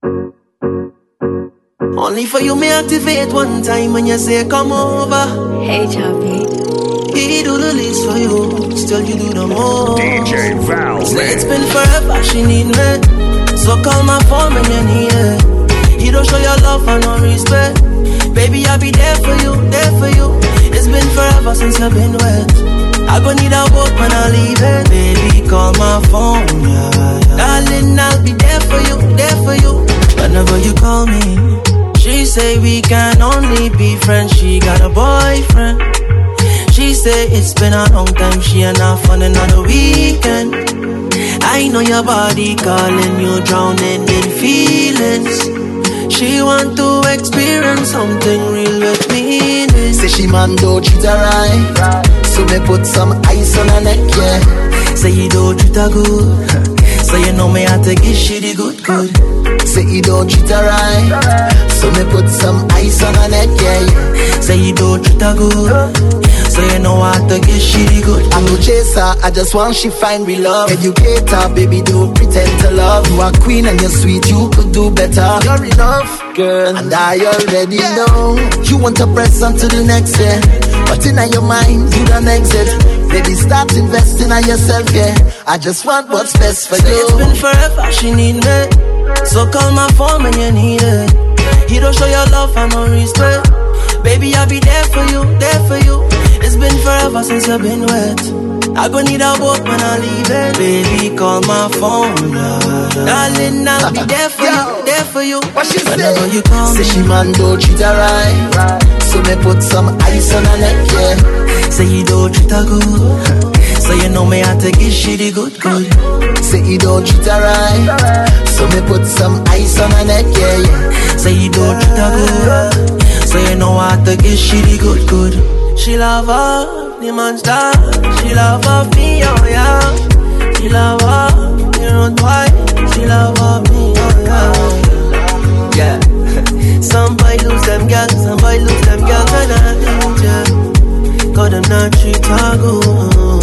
Only for you may activate one time when you say come over. Hey Choppy. He do the least for you, still you do the most. DJ Val. Say it's been forever, she need me. So call my phone when you need it. You don't show your love and no respect. Baby, I'll be there for you, there for you. It's been forever since you've been wet. I gon' need a boat when I leave it. Baby, call my phone, yeah. Darling, I'll be there for you, there for you. Whenever you call me. She say we can only be friends. She got a boyfriend. She say it's been a long time. She ain't off on another weekend. I know your body calling you, drowning in feelings. She want to experience something real with me. Say she man don't treat her right, so me put some ice on her neck, yeah. Say you don't treat her good, so you know me have to give she the good. Say you don't treat her right, so me put some ice on her neck, yeah. Say you don't treat her good, so you know I have to give she the good. I'm no chaser, I just want she find real love. Educate her, baby, don't pretend to love. You are queen and you're sweet, you could do better. You're enough, girl, and I already know. You want to press on to the next, yeah. But in your mind, you don't exit. Baby, start investing in yourself, yeah. I just want what's best for you. It's been forever, she need me. So call my phone when you need it. You don't show your love and no respect. Baby, I'll be there for you, there for you. It's been forever since you've been wet. I gon' need a boat when I leave it. Baby, call my phone, yeah. Darling, I'll be there for you, there for you. What she whenever say? You call say me. she man don't treat her right, so me put some ice on her neck, yeah. Say you don't treat her good, so you know me have to give she the good. Say you don't treat her right, so me put some ice on her neck, yeah. Say you don't treat her good, so you know I have to give she the good. She love her, the monster. She love her, me, oh yeah. She love her, you know why. She love her, me, oh yeah. Yeah. Some boy lose them girls, some boy lose them girls when I danger. Cause them not treat her good.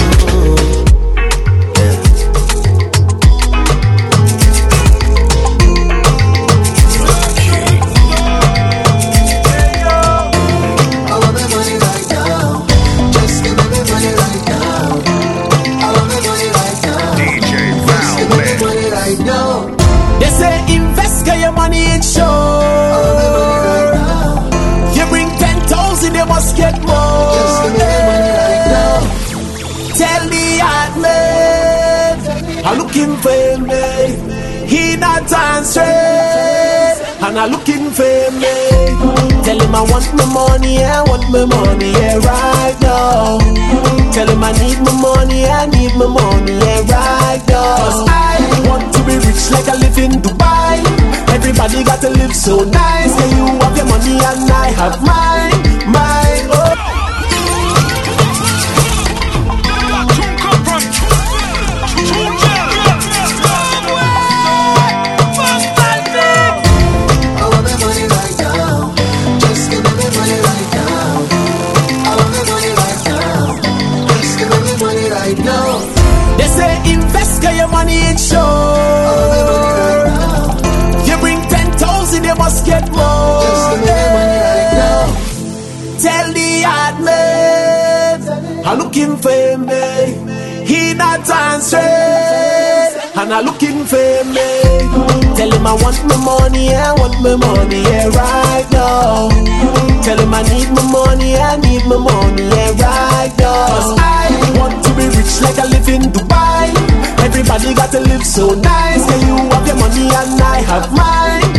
Get more. Tell the admin I'm looking for me. He not answering, and I'm looking for me. Tell him I want my money, I want my money, yeah, right now. Tell him I need my money, I need my money, yeah, right now. 'Cause I want to be rich like I live in Dubai. Everybody got to live so nice. Can you have your money and I have mine? They say invest, get your money in show. You bring 10,000, you must get more. Tell the admin I'm looking for me. He not answering, and I'm looking for me. Tell him I want my money, I want my money, yeah, right now. Tell him I need my money, I need my money, yeah, right now. 'Cause I want to be rich like I live in Dubai. Everybody got to live so nice. Can you have your money and I have mine?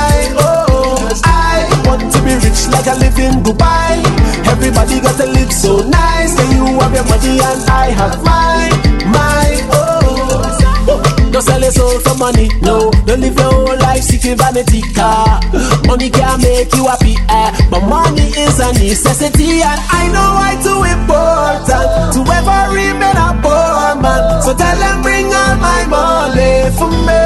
I want to be rich like I live in Dubai. Everybody got to live so nice. Can you have your money and I have mine? Don't sell your soul for money, no. Don't live your whole life seeking vanity car. Money can't make you happy, but money is a necessity. And I know why too important to ever remain a poor man. So tell them bring all my money for me.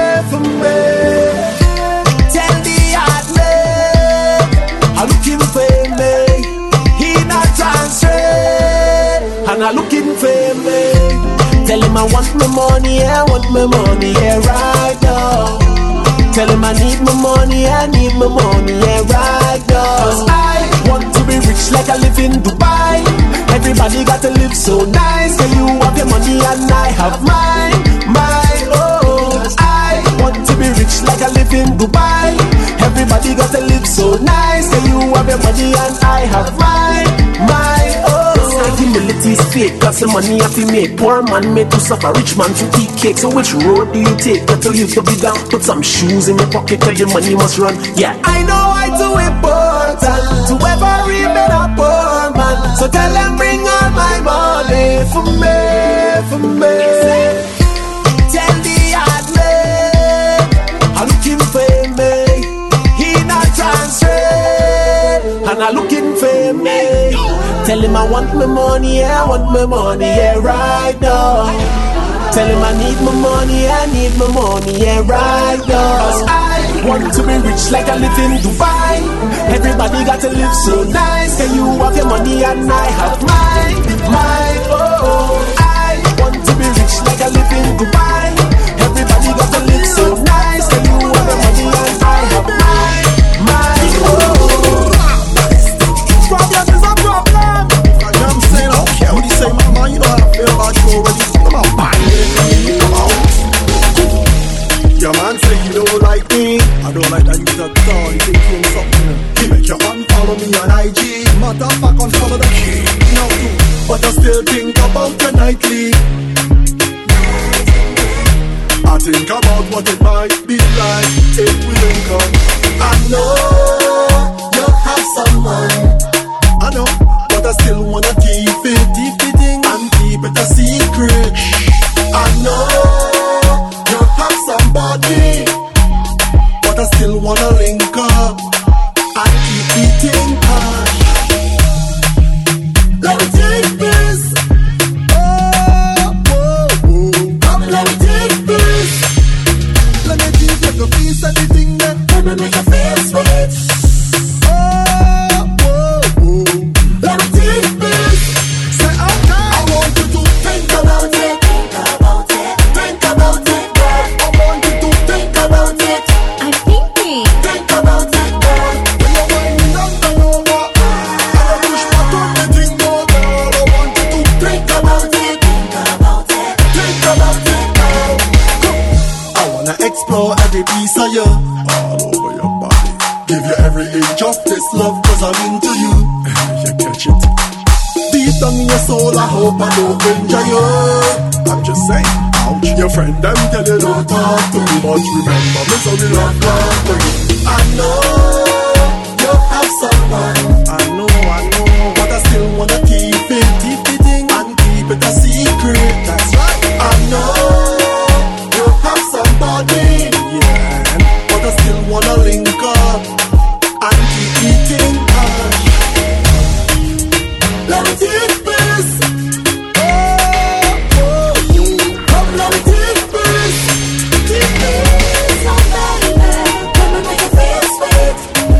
Tell the admin I'm looking for me. He not answering, and I'm looking for me. Tell him I want my money, I want my money, yeah, right now. Tell him I need my money, yeah, right now. 'Cause I want to be rich like I live in Dubai. Everybody got to live so nice. So you have your money and I have mine, oh. I want to be rich like I live in Dubai. Everybody got to live so nice. So you have your money and I have mine, oh. Humility is fake, got some money have to make. Poor man made to suffer, rich man to eat cake. So which road do you take? Got to live to be down. Put some shoes in your pocket, cause your money must run. Yeah, I know I too important to every better poor man. So tell them bring all my money for me. Tell the hard man I'm looking for me. He not transfer, and I'm looking for me. Tell him I want my money, yeah, right now. Tell him I need my money, yeah, right now. 'Cause I want to be rich like I live in Dubai. Everybody got to live so nice. Can you have your money and I have mine, oh. I want to be rich like I live in Dubai. Everybody got to live so nice. Can you have your money and I have mine, oh. Problem is a problem. You know what I'm saying? I don't care what you say, mama. You know how I feel about you already. Come on, bang. Come on. Your man say you don't like me. I don't like that you talk tall. You think you're something. He make your man follow me on IG. Matter of fact, unfollow the key. No, but I still think about you nightly. I think about what it might be like if we link up. I know you have someone. I know, but I still wanna keep it and keep it a secret. I know you have somebody, but I still wanna link up and keep eating cash. Let me take this. Come, let me take this. Let me give you a piece of the thing that let me make you feel sweet. Let me take this. Say okay. I want you to think about it. Think about it, girl. I want you to think about it. I'm thinking. Think about it, girl. When you're winding down the over, and you push back on the thing, more, girl. I want you to think about it. Think about it, girl. Come. I wanna explore every piece of you, all over your body. Give you every inch of this love, 'cause I'm into you. You catch it. Deep down in your soul, I hope I don't injure you. I'm just saying, ouch. Your friend them tell you don't talk too much. Remember me, so we love company. I know you have someone. I know, but I still wanna keep it and keep it a secret. That's right. I know you have somebody, yeah, but I still wanna link up and keep eating cash. Let me take this. Come, let me take this. Take this, oh baby. Let me make you feel sweet.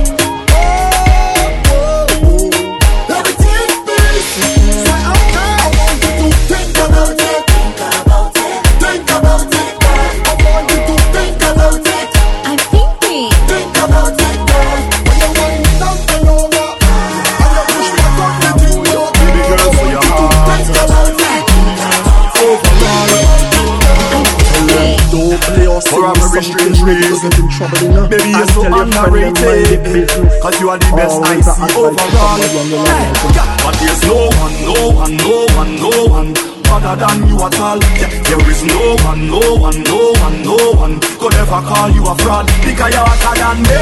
Let me take this. Say okay. I want you to think about it. Think about it, girl. I want you to think about it. I'm thinking. Think about it, girl. When you're winding down the over, and you push back on the thing, you're baby girl, so your heart. Think about it. Don't play or For a very strange reason, maybe you're so underrated, 'cause you are the best I see overall. But there's no one other than you at all. There is no one could ever call you a fraud, because you're hotter than me.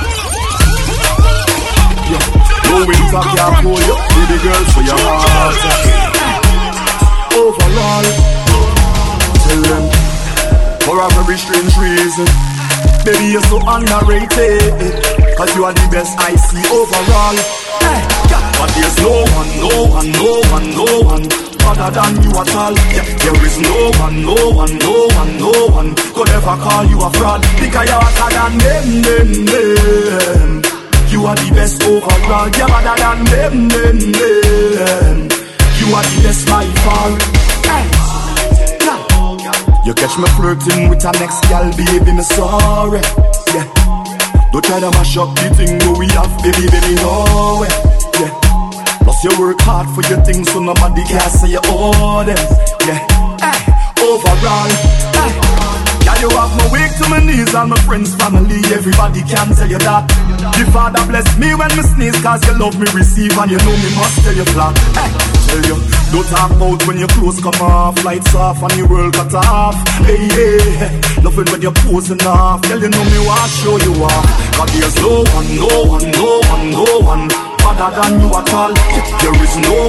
No winter can pull you, baby girl, so your heart. Overall, tell them, for a very strange reason, baby you're so underrated, 'cause you are the best I see overall. But there's no one other than you at all. There is no one could ever call you a fraud, because you're hotter than them. You are the best overall, you're better than them. You are the best by far. You catch me flirting with a next gal, baby, me sorry. Yeah. Don't try to mash up the thing that we have, baby, no way. Yeah. Plus you work hard for your things, so nobody can say you owe them. Yeah. Hey. Overall, hey. Yeah, you have me weak to my knees and my friends, family, everybody can tell you that. The Father bless me when me sneeze, cause you love me receive and you know me must tell you flat. Hey, tell you, don't talk about when your clothes come off, lights off and the world cut off. Hey, hey, love it when you're posing off, girl you know me want show you off. Cause there's no one other than you at all. There is no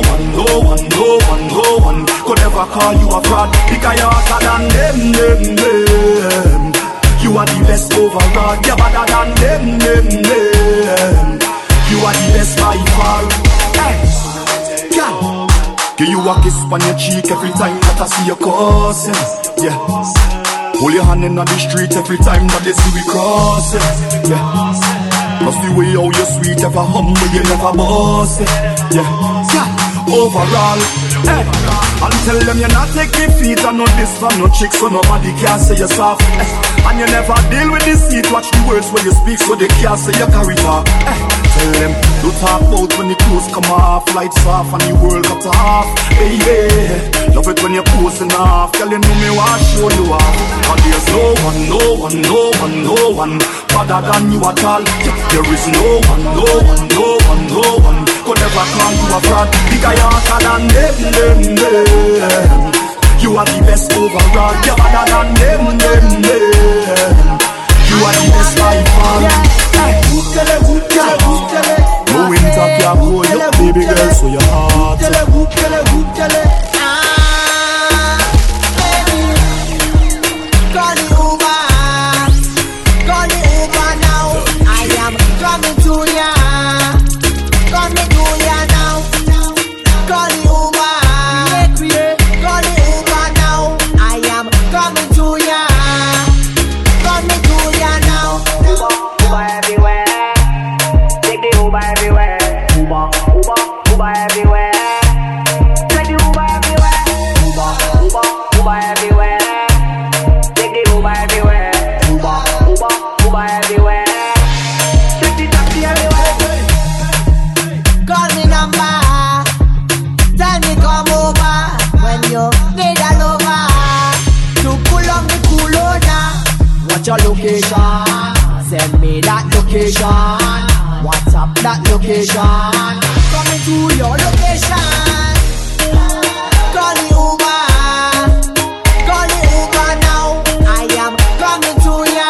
one could ever call you a fraud. Because you're hotter than them. You are the best overall. You're better than them. You are the best by far. Hey, yeah. Give you a kiss on your cheek every time that I see your cousin. Yeah. Hold your hand in the street every time that they see we crossing. Yeah. Cause the way how you sweet, ever humble, you never boss it. Yeah, overall, hey. And tell them you're not taking feet and no this for no chicks, so nobody can say you're soft. Hey. And you never deal with deceit, watch the words when you speak, so they can't say you carry talk. Hey. Tell them, don't talk about when the clothes come off, lights off and the world cut off. Hey, yeah, love it when you're posing off, girl you know me want show you off. And there's no one other than you at all. There is no one could ever call you a fraud. Because you're hotter than them. You are the best overall. You're better than them. You are the best by far. No winter can hold you, baby girl, so your heart. Coming to ya, coming to ya now. Call the Uber, call the Uber now. I am coming to ya, coming to ya now. Uber everywhere, take the Uber everywhere. Uber everywhere, take the Uber everywhere. Uber everywhere, take the Uber everywhere. Uber everywhere. Call me number, tell me come over when you need a lover to pull on the Kulona. What's your location? Send me that location. What's up that location? Coming to your location. Call the Uber, call the Uber now. I am coming to ya,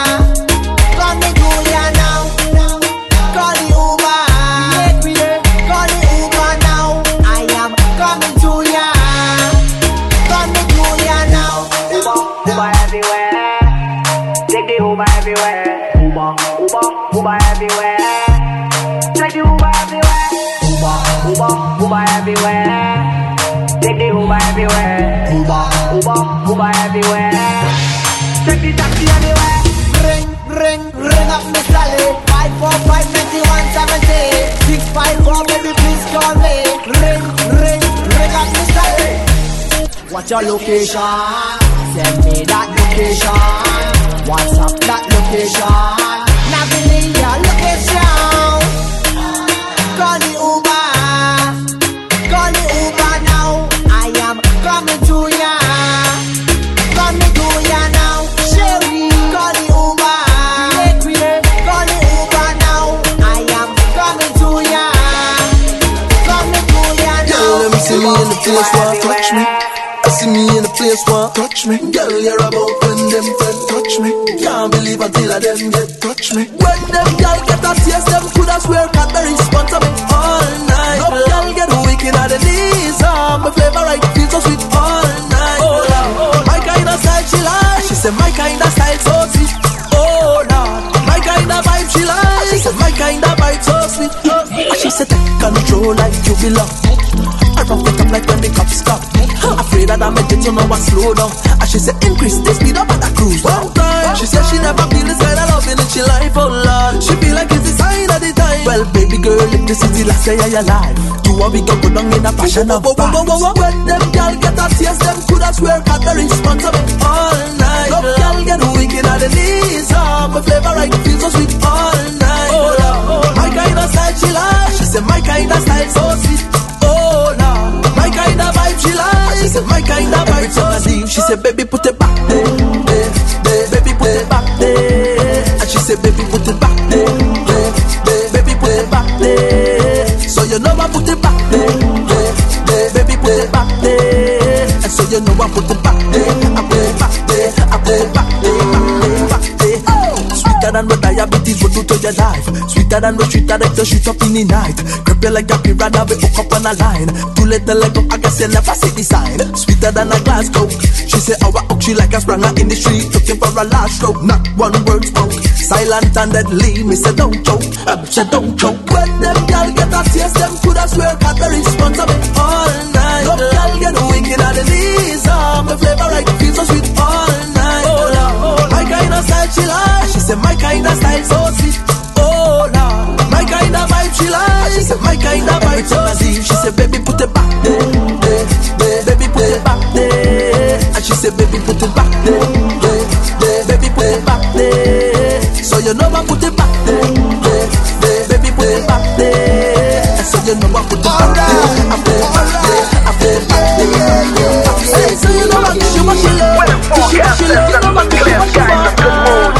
coming to ya now. Call the Uber. Call the Uber now. I am coming to ya, coming to ya now. Uber everywhere, take the Uber everywhere. Uber everywhere, take the Uber everywhere. Uber everywhere, take the Uber everywhere. Uber everywhere, take the taxi everywhere. Ring up Miss Sally. 545 91 70 654, baby, please call me. Ring up Miss Sally. What's your location? Send me that location. What's up that location? Now give me your location. Call the Uber, call the Uber now. I am coming to ya, coming to ya now. Sherry, call the Uber. Call the Uber now. I am coming to ya, coming to ya now. Girl, let me see me in the place where touch me. I see me in the place where touch me. Girl, you're about when them friends touch me. Can't believe until I them get touch me. When them girl get a taste, them coulda swear can't respond to me all night. No girl get wicked at the knees. My favorite feels so sweet all night. Oh, my kind of style she like. She said my kind of style so sweet. Oh Lord, my kind of vibe she like. She said my kind of vibe so sweet. She said take control like you belong. I rough it up like when the cops stop. Afraid that I'm a jet, you know I slow down. And she said increase the speed up at the cruise. One time, she said she never feel this kind of loving in she life, oh Lord. She feel like it's the sign of the time. Well, baby girl, if this is the say you're alive. You want me go down in a passion of vibes. When them girl get a taste, them coulda swear got the responsible all night. Some girl get wicked at the knees. My flavor right feels so sweet all night. Oh Lord, my kind of style she like. She said my kind of style so sweet. Oh Lord, my kind of vibe she like. She said my kind of vibe so sweet. She said baby put it back there, baby put it back there. And she said baby put it back there, baby put it back there. So you know I put it back there, baby put it back there. And so you know I put it back there, I put it back there, I put it back there, back there. Sweeter than what diabetes will do to your life. Sweeter than what street director shoot up in the night. Grab you like a piranha, we hook up on a line. Too little like I guess you never see the sign. Sweeter than a glass coke. She say our oak, she like a spranger in the street, looking for a last stroke. Not one word spoke. Silent and deadly, me say don't choke. Say don't choke. When them girl get a taste, them coulda swear got the responsible all night. Some girl get wicked at the knees. My flavor right feels so sweet all night. Oh Lord, my kind of style she like. She said my kind of style so sweet. Oh Lord, my kind of vibe she like. She said my kind of vibe so sweet. She said baby put it back there, baby put it back there. And she said baby put it back there, baby put it back there. So you know I put it back there, baby put it back there. And so you know I put it back there, I put it back there, I put it back there. Hey, so you know I kiss you what she love, kiss you what she love, you know I kiss you what she want.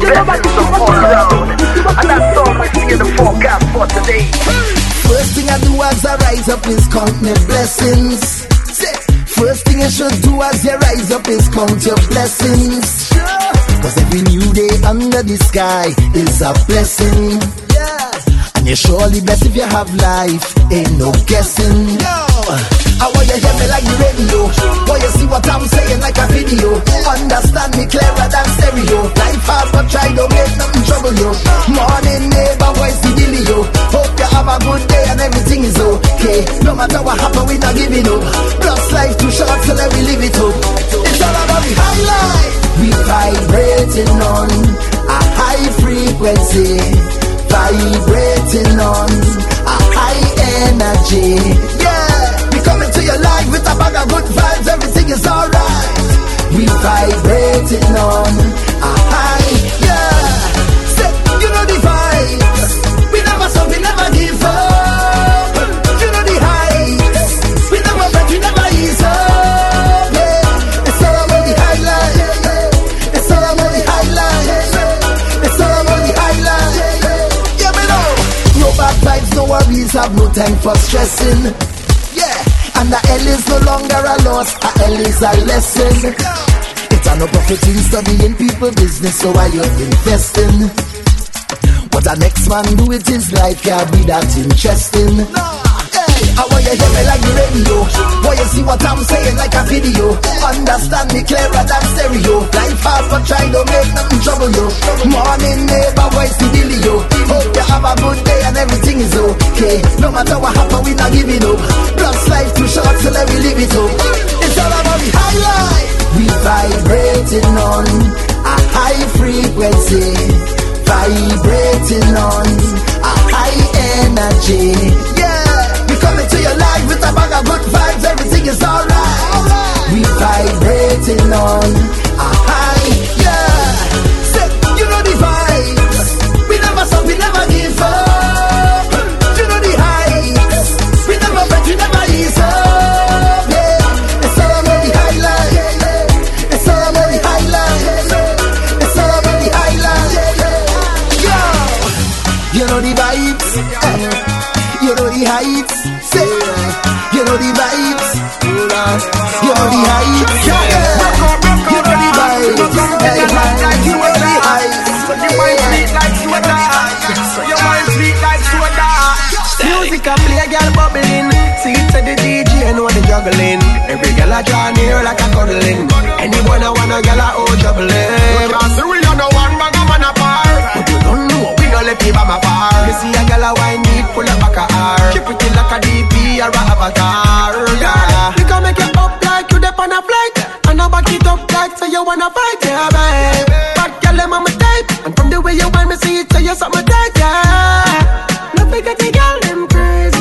And that's all I see in the forecast for today. First thing I do as I rise up is count my blessings. First thing you should do as you rise up is count your blessings. Cause every new day under the sky is a blessing. And you're surely blessed if you have life, ain't no guessing. I want you hear me like the radio. Want you see what I'm saying like a video. Understand me clearer than stereo. Life hard but try don't make nothing trouble you. Morning neighbor, voice the dealio. Hope you have a good day and everything is okay. No matter what happen, we not giving up. Plus life too short, so let we live it up. It's all about the high life. We vibrating on a high frequency. Vibrating on a high energy. Yeah, we coming to your life with a bag of good vibes. Everything is alright. We vibrating on a high. Yeah, say, you know the vibes. We never stop, we never give up. You know the heights. We never break, we never ease up. Yeah, it's all about the highlight. It's all about the highlight. It's all about the highlight. No bad vibes, no worries, have no time for stressing. Yeah, and the L is no longer a loss, a L is a lesson. It's a no profit in studying people business, so why you investing? What the next man do with his life can't be that interesting. Hey, I want you hear me like the radio. Want you see what I'm saying like a video. Understand me clearer than stereo. Life hard but try don't make nothing trouble you. Morning neighbor, voice the dealio. Hope you have a good day and everything is okay. No matter what happen, we not giving up. Plus life too short, so let me live it up. It's all about the high life. We vibrating on a high frequency. Vibrating on a high energy. Yeah, we coming to your life with a bag of good vibes. Everything is alright. We vibrating on a high. Yeah, say, you know the vibes. We never stop, we never give up. You know the heights. We never break, we never ease up. Yeah, it's all about the highlight. It's all about the highlight. It's all about the highlight. You know the vibes, you know the heights, say, you know the vibes, you know the heights, you know the vibes, you know the heights, Your mind sweet like soda. Your mind sweet like soda. Music a play, girl bubbling. See it to the DJ, know the juggling. Every girl a draw near like a cuddling. Anyone a wanna girl a oh juggling. Cause we are the one bag of man apart. But you don't know, we don't let people my far. You see a girl a wine need full of back of her. She pretty like a DP or a avatar. Yeah, we can make it up like you dip on a flight. And I back it up like so you wanna fight. Yeah, babe. But girl, I'm on my type. And from the way you want me see it, so you something tight. Yeah, no figure the girl, them crazy.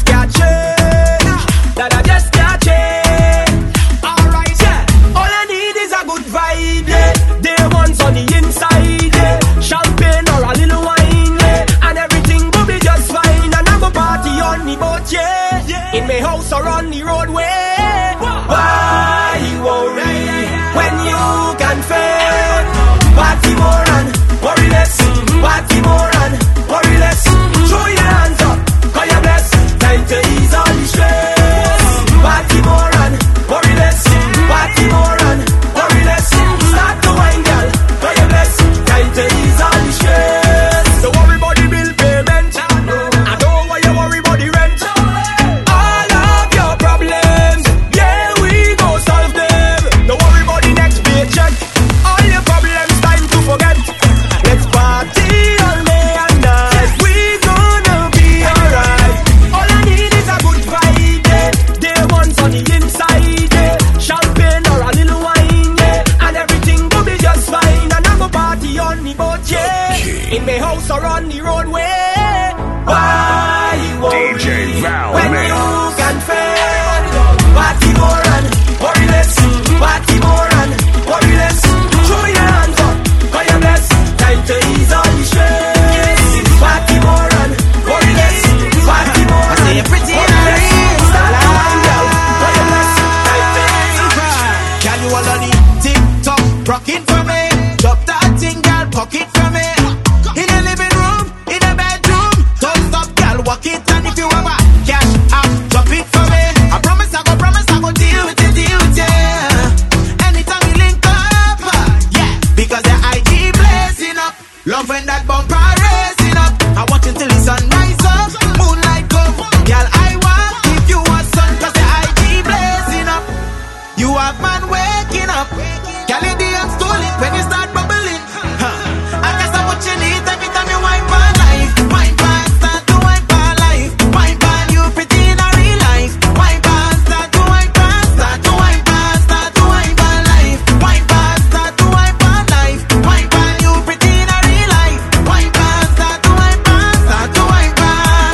can't change. That I just can't change. Alright, yeah. All I need is a good vibe, yeah. Day one's on the inside, yeah. Champagne or a little wine, yeah. And everything will be just fine. And I'm a party on the boat, yeah. In my house or on the roadway. Why you worry when you can fail? Party more and worry less. Party more and worry less. Throw your hands up, call your bless. Time to ease all the stress. Party more and worry less. Party more and worry less. Start to wine, girl, call your bless. Time to ease all the stress. Don't worry about the bill payment. I don't want you worry about the rent. All of your problems, yeah, we go solve them. Don't worry about the next paycheck. All your problems, time to forget. Let's party all day and night. We gonna be alright. All I need is a good vibe, yeah. Day one's on the inside, yeah. Champagne or a little wine, yeah. And everything will be just fine. And I'm a party on the boat, yeah. In my house or on the roadway. Why you worry DJ Val, when man. you can fail? Party more and worry less. Party more and worry less. Throw your hands up, call your bless. Time to ease all the stress. Party more and worry less. Party more and worry less. Start to wind down, call your bless. Time to ease all the stress. Can you all on the TikTok rock it for me? Drop that thing, girl, pocket for me. In the living room, in the bedroom, don't stop, girl, walk it. And if you ever cash out, drop it for me. I promise I go deal with it, anytime we link up, yeah. Because the IG blazing up, love when that bumper racing up. I watch until the sun rise up, moonlight come, girl, I want give you a sun. Cause the IG blazing up, you have man waking up. Girl, in the young stolen when you start bubbling. I guess I'm what you need every time you wipe my life. Wipe on, start to wipe my life. Wipe on, you pretty in a real life. Wipe on, start to wipe on, start to wipe on, start to wipe my life. Wipe on, start to wipe my life. Wipe on, you pretty in a real life. Wipe on, start to wipe on, start to wipe on.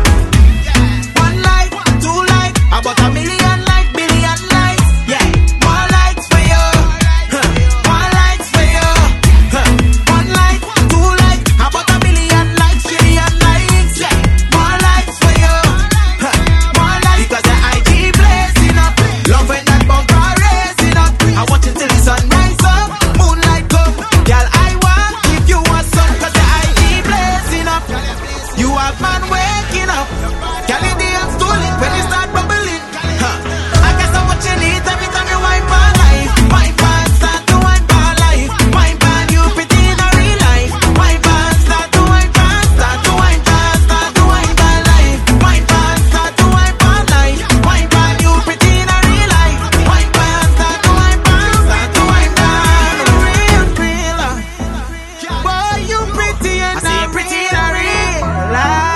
One life, two life, about a million life, billion life. Yeah, more lights for you. More lights for you. One life, two life, about a million lights, trillion lights. Yeah, more lights for you. More lights because the IG blazing up. Love when that bumper raising up. I watch it till the sun rise up. Moonlight come, girl, I want give you a sun. Cause the IG blazing up. You have man waking up. Girl, in the young stolen when you start bubbling. I guess I'm what you need every time you wipe my life. Wipe on, start to wipe my life. Wipe on, you pretty in a real life. Wipe on, start to wipe on, start to wipe on, start to wipe my life. Wipe on, start to wipe my life. Wipe on, you pretty in a real life. Wipe on, start to wipe on, start to wipe on. Real. Boy, you pretty and I'm pretty in a real life.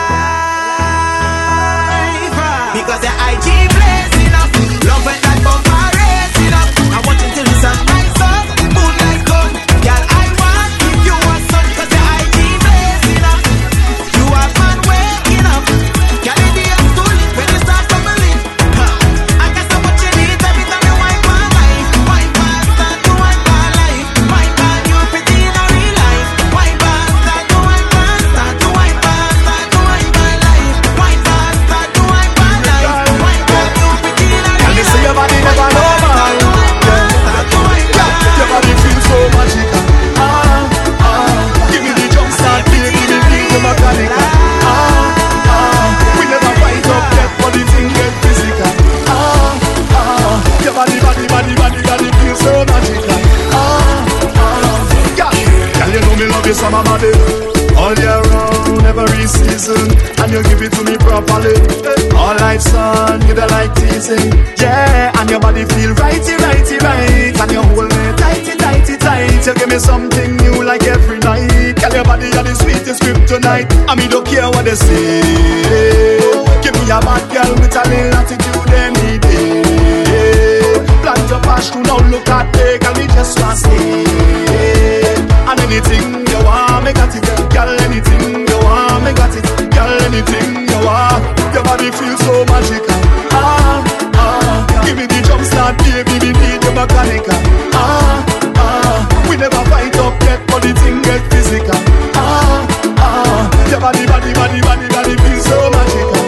Because the IG blazing up. Love when that bumper racing up. I watch until the sun rise up. Moonlight come, girl, I want give you a sun. Cause the IG blazing up. You have man waking up. Girl, in the young stolen when you start bubbling. I guess I'm what you need every time you wipe my life. Wipe on, start to wipe my life. Wipe on, you pretty in a real life. Wipe on, start to wipe on, start to wipe on, start to wipe my life. Wipe on, start to wipe my life. Wipe on, you pretty in a real life. And they say your body never normal. Your body feels so magical. Give me the jump start, give me the mechanical. We never fight up yet, but the thing get physical. Your body feels so magical. Girl, you know me love you so my body. All year round, every season, and you give it to me properly. All life, son, you don't like teasing. Yeah, and your body feel righty, and you hold me tighty. You give me something new like every night. Girl, your body are the sweetest kryptonite. I mean, don't care what they say. Give me a bad girl with a little attitude any day. Plant your passion, now look at me, girl, we just want to stay. And anything you want, me got it. Girl, anything you want, me got it. Girl, anything you want. Your body feels so so magical. Give me the jump start, baby, we need your mechanical. We never fight up yet, but the thing get physical. Your body feels so magical.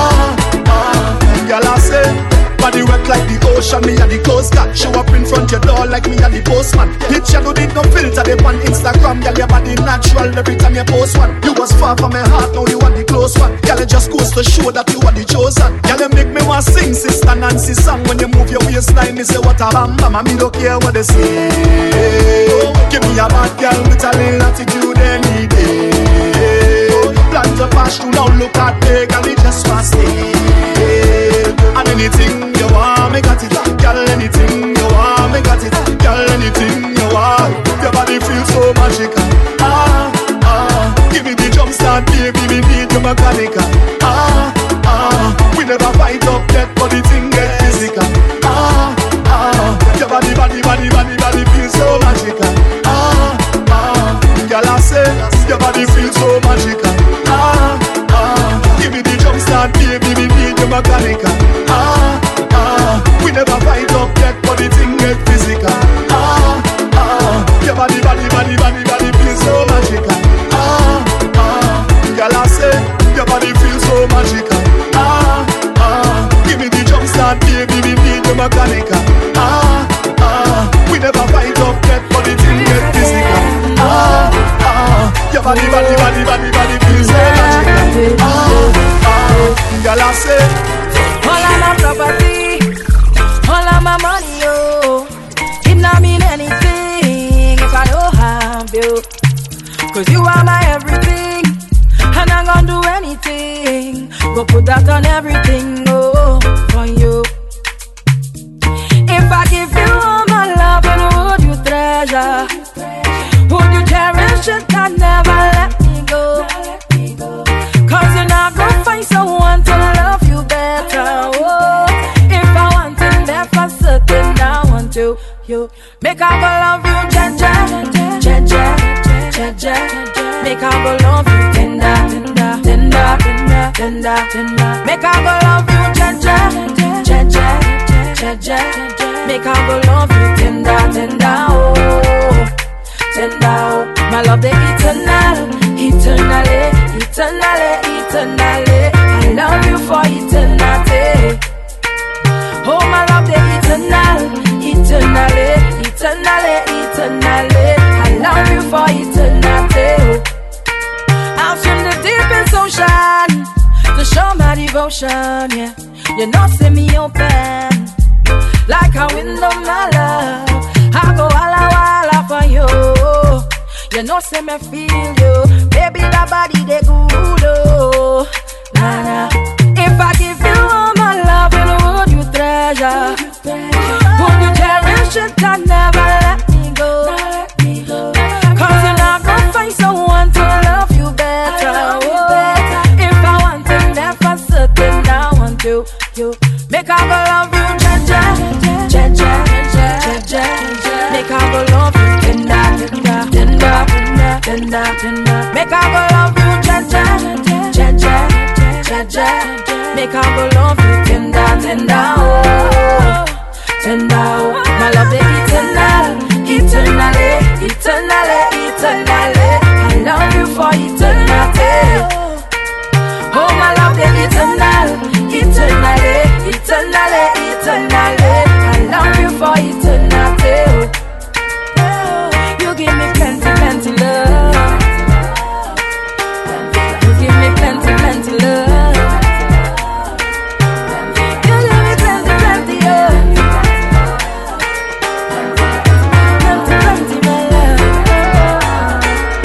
Girl, I say, body wet like the ocean, me and the coast guard. Show up in front your door like me and the postman. Picture no need no filter, they on Instagram. Girl, your body natural every time you post one. You was far from my heart, now you are the close one. Girl, it just goes to show that you are the chosen. Girl, you make me want sing Sister Nancy song. When you move your waistline, me say what a bam bam. Me don't care what they say. Give me a bad girl with a little attitude any day. Plan to pass through now, look at me, girl, it just want stay. And anything you want, me got it. Girl, anything you want, me got it. Girl, anything you want. Your body feels so magical. Give me the jump start, baby, we need your mechanical. We never fight up yet, but the thing get physical. Your body feels so magical. Girl, I say, your body feels so magical. Give me the jump start, baby, we need your mechanical. We never fight up yet, but the thing get physical. Your body feels so magical. Girl, I say, your body feels so magical. Give me the jump start, baby, we need your mechanical. We never fight up yet, but the thing get physical. Your body feels so magical. Girl, I say, all of my property, all of my money, oh, it not mean anything if I don't have you. Cause you are my everything, and I'm gonna do anything. Go put that on everything, oh, for you. If I give you all my love, and would you treasure? Would you cherish it and never let me go? Cause you're not gonna find someone to love you better, oh. If I want it there for certain, I want you. Make I go love you, Jaja. Make I go love you, tender. Make I go love you, Jaja. Make I go love you, tender, oh. Tender, oh. My love, the eternally. I love you for eternity. Oh, my love, the eternally. I love you for eternity. I'll swim the deepest ocean to show my devotion, yeah. You know, see me open like a window, my love. I go walla for you. You know, see me feel you. Baby, that body, they good, oh. Nah. If I give you all my love, would you treasure? Would you cherish it and never let me go? Cause you're not gonna find someone to love you better, oh. If I want it there for certain, I want you. Make I go love you, Jaja. Make I go love you, tender. Make I go love you, Jaja. Make I go love you, tender, oh. Tender, oh. My love, the eternally. I love you for eternity. Oh, my love, the eternally. I love you for eternity. You give me plenty love. You give me plenty love. You give me plenty, plenty my love.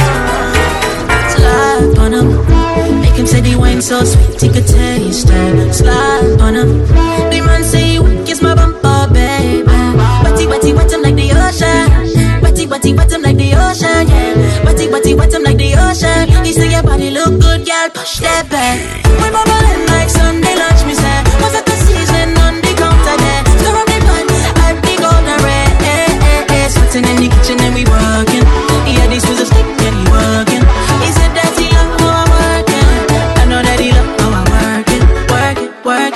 Slide on him, make him say the wine so sweet he could taste it. Slide on him, the man say you kiss my bumper, baby. Wet him like the ocean. Wet him like the ocean, yeah. Wet him like the ocean. He say your body look good, girl, push that back. We bubbling like Sunday lunch, me say. Was at the season on the counter there. Stir up the pot, like the golden red. Sweating in the kitchen and we working. Yeah, this was a stick and he working. He said that he love how I'm working. I know that he love how I'm working.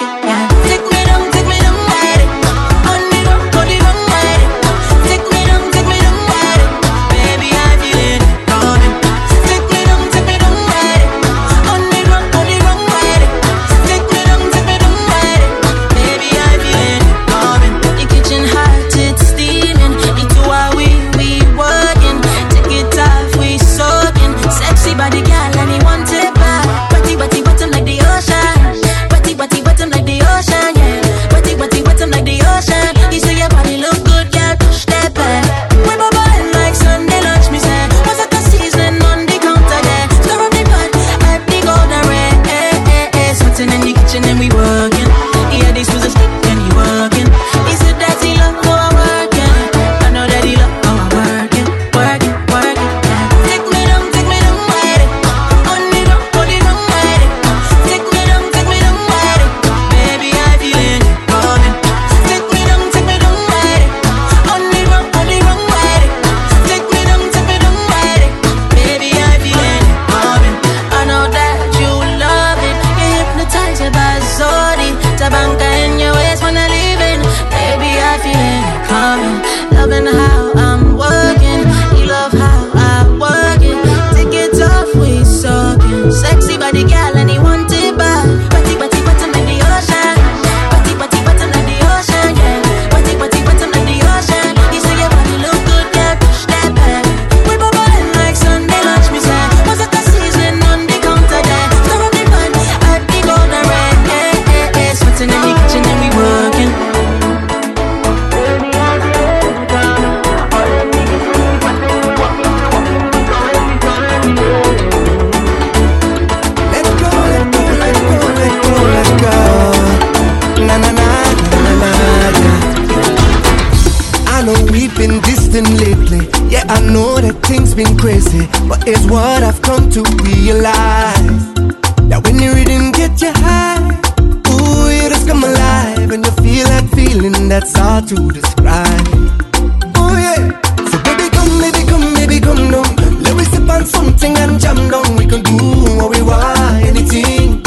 crazy, but it's what I've come to realize. That when the rhythm get you high, ooh, you just come alive. And you feel that feeling that's hard to describe. Oh yeah, so baby come down. Let me sip on something and jam down. We can do what we want, anything.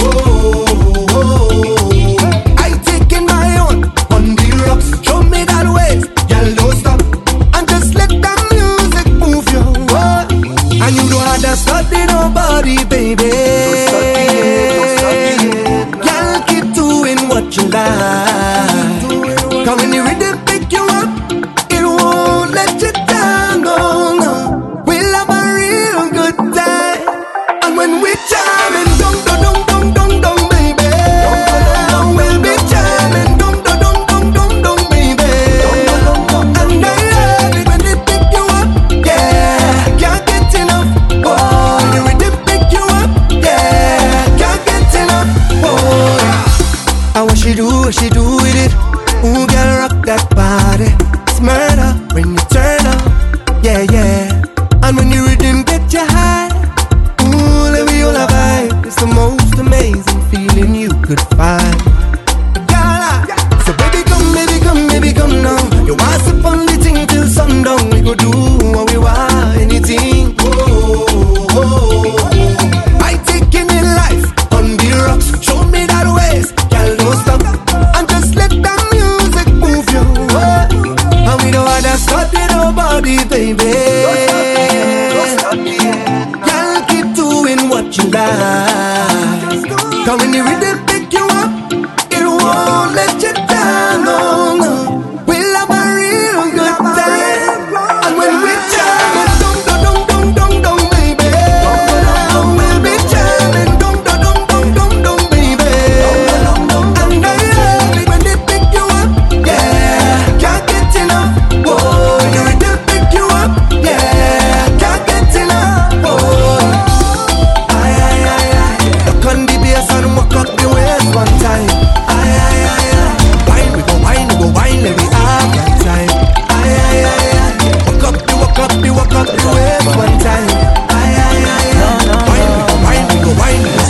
I taking my own on the rocks. Show me that way, girl, don't stop. And just let the music move you. And you don't have to study nobody, baby. Girl, keep doing what you like. Come when the rhythm pick you up, it won't let you down, no. We'll have a real good time. And when we jamming, dum, baby. We'll be jamming, dum, baby. And I love it when they pick you up, yeah. Can't get enough, boy. The rhythm pick you up, yeah. Can't get enough, boy. And what she do with it? Ooh, girl, rock that body. It's murder when you turn up, yeah, yeah. And when the rhythm get you high, ooh, let me all a vibe. It's the most amazing feeling you could find. So baby come now. You want some fun, the thing till sundown. We go do what we want, anything. I taking in life on the rocks. Show me that ways, girl, don't stop. And just let the music move you. And we don't want to study nobody, baby. Girl, keep doing what you like. Cause when the rhythm pick you up, it won't let you down, no. We'll have a real good time. And when we jam, dum, baby. We'll be jamming, dum, baby. And I love it when they pick you up, yeah. Can't get enough, boy. The rhythm pick you up, yeah. Can't get enough, boy. Look on the bass and walk up the waist one time. Wine, we go wine, let me have that time. Walk up the waist one time. Wine, we go wine, let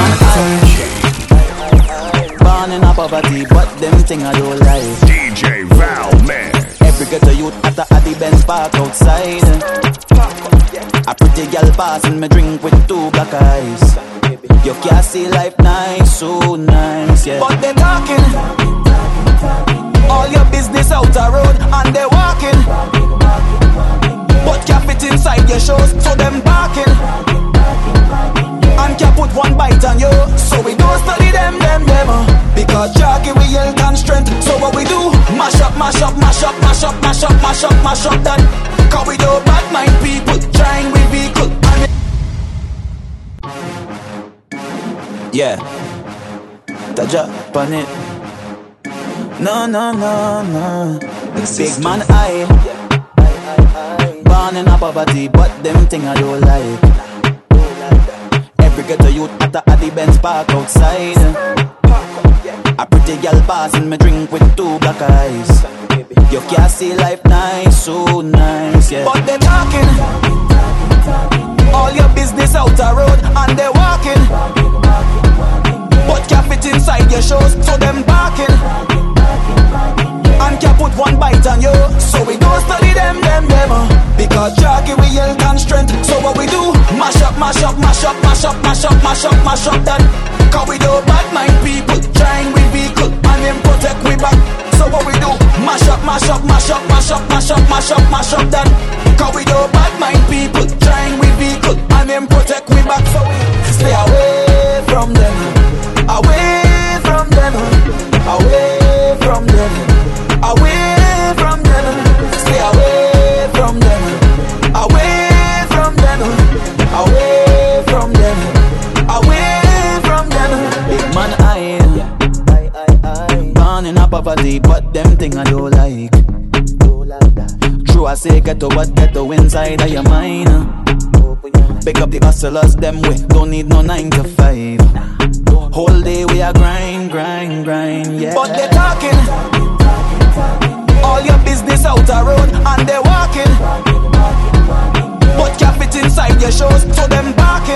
me have that time. Born in a poverty, but them thing I don't like. DJ Val, man. Every ghetto youth at the Benz park outside. A pretty girl passing me drink with two black eyes. You can't see life nice, so nice, yeah. But they talking all your business out the road, and they walking, but can't fit inside your shows, so them barking, and can't put one bite on you. So we don't study them, because jockey we yell and strength. So what we do? Mash up that. Cause we do bad mind people, trying with vehicle. Yeah, Taja on it. No. Big man I born in a poverty, but them thing I don't like. Every ghetto youth at the Benz park outside. A pretty girl passing me drink with two black eyes. You can't see life nice, so nice, yeah. But they talking all your business out the road, and they walking, but can't fit inside your shows, so them barking, and can't put one bite on you. So we don't study them, because jockey we yell and strength. So what we do? Mash up that. Cause we do bad mind people, trying with vehicle, and them protect we back. So what we do? Mash up that. Cause we do bad mind people, trying with vehicle, and them protect we back. So we stay away from them, away from them, away from them, away from them. Stay away from them, away from them, away from them, away from them. Big man I born in a poverty, but them thing I don't like. True I say ghetto, but ghetto inside of your mind. Pick up the hustlers, them we don't need no 9 to 5. Whole day we are grind, yeah. But they talking all your business out the road, and they walking, but can't fit put inside your shoes, so them barking.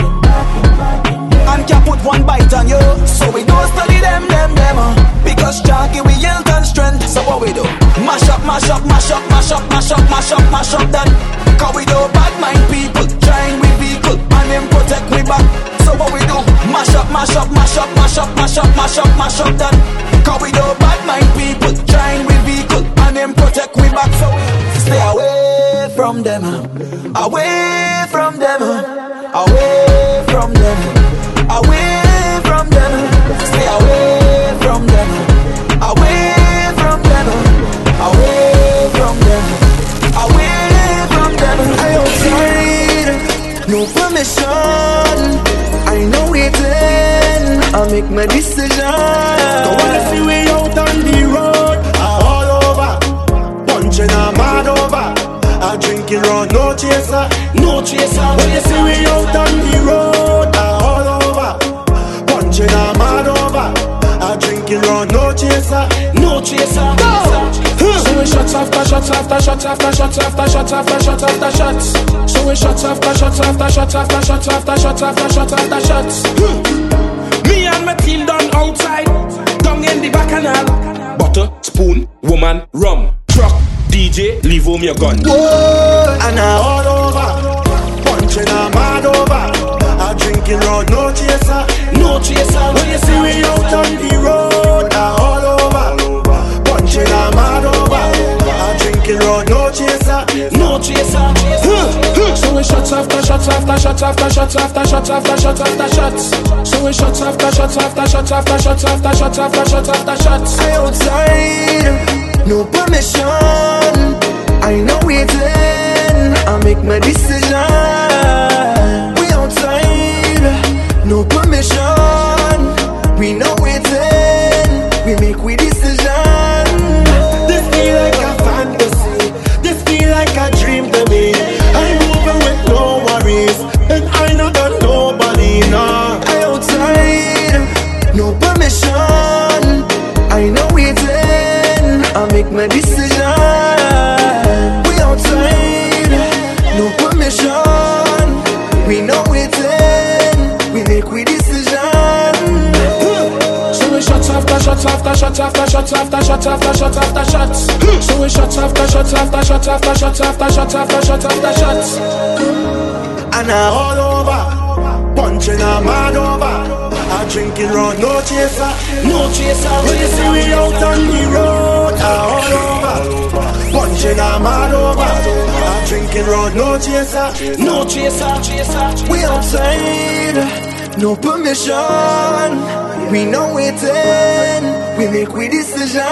And can't put one bite on you, so we don't study them, because Jah give we health and strength. So what we do? Mash up, mash up, mash up, mash up, mash up, mash up, mash up that. Cause we do bad mind people, trying we vehicle, and them protect we back. So what we do? Mash up, mash up, mash up, mash up, mash up, mash up, mash up that. Cause we do bad mind people, trying we vehicle, and them protect we back. So stay away from them, away from them, away from them, away from them. Stay away from them, away from them, away from them, away from them. I outside, no permission. I know waiting, I make my decision. Go wanna see we out on the road, all over, punching a mad over, a drinking rum, no chaser, no chaser. When you see we out on the road, all over, punching a mad over, a drinking rum, no chaser, no chaser. So we shots after shots after shots after shots after shots after shots after shots. So we shots after shots after shots after shots after shots after shots after shots. Me and my team done outside, down in the bacchanal. Butter, spoon, woman, rum, truck, DJ, leave home your gun. Whoa, and all over, punching a mad over, a drinking rum, no chaser, no chaser. When you see we out on the road, all over, punching a mad over, a drinking rum, no chaser, no chaser. So we shots after shots after shots after shots after shots after shots after shots. So we shots after shots after shots after shots after shots after shots after shots. I outside, no permission. I know waiting, I make my decision. We outside, no permission. We know waiting, we make we decision. This feel like a fantasy, this feel like a dream to me. I'm moving with no worries, and I not got nobody now. I outside, no permission. I know waiting, I make my decision. We outside, no permission. We know waiting, we make we decision. So we shots after shots after shots after shots after shots after shots after shots. So we shots after shots after shots after shots after shots after shots after shots. And all over, punching a mad over, a drinking rum, no chaser, no chaser. When you see we out on the road, all over, punching a mad over, a drinking rum, no chaser, no chaser. We outside, no permission. We know waiting, we make we decision.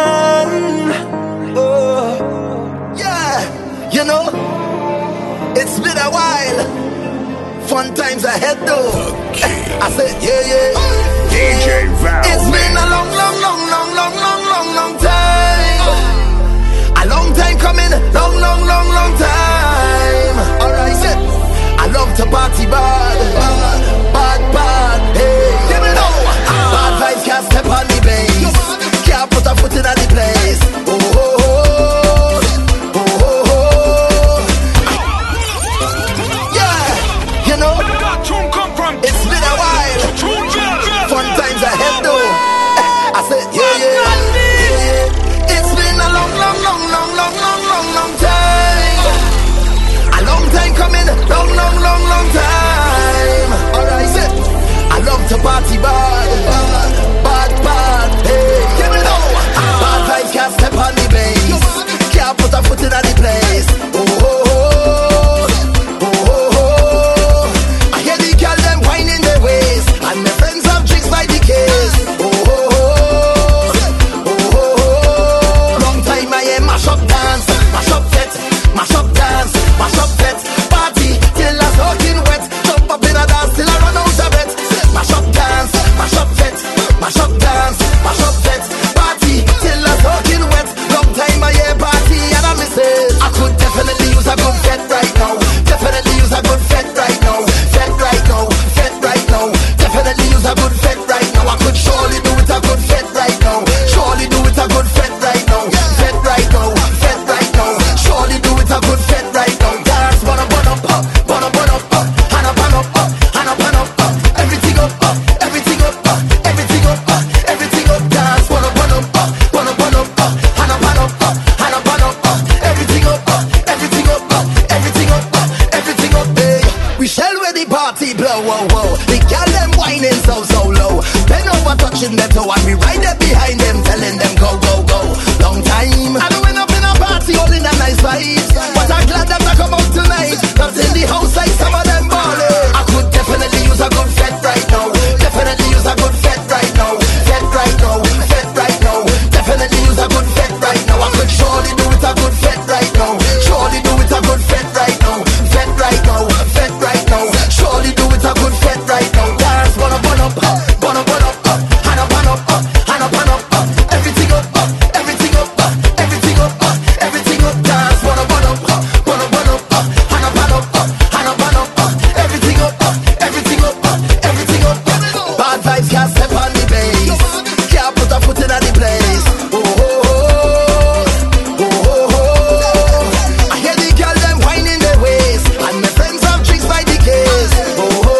Oh, Yeah, you know, it's been a while. Fun times ahead though. I said, yeah. DJ Val. It's been a long time. A long time coming, long time. Alright, I love to party bad, hey. Bad vibes can't step on the base. Can't put a foot in the place. Yeah, you know, it's been a while. Fun times ahead though. watching them, so I be right there behind them, telling them go, go, go. Long time, I don't end up in a party, all in a nice vibes, but I'm glad them to come out tonight. Not in the house like some of them ballin'. I could definitely use a good fet right now. Definitely use a good fet right now. Fet right now, fet right now. Definitely use a good fet right now. I could surely do it a good fet right now. Surely do it a good fet right now. Fet right now, fet right now. Surely do it a good fet right now. Dance, burn up, burn up, burn up, burn up, hand up, hand up, hand up, hand up, everything up, everything up, everything up, everything up. Dance, burn up, burn up, burn up, burn up, hand up, hand up, hand up, hand up, everything up, everything up, everything up. Bad vibes can't step on the bass, can't put a foot in the place. Oh, oh, oh, oh, oh. I hear the girl them whining their waist, and my friends have drinks by the case. Oh, oh,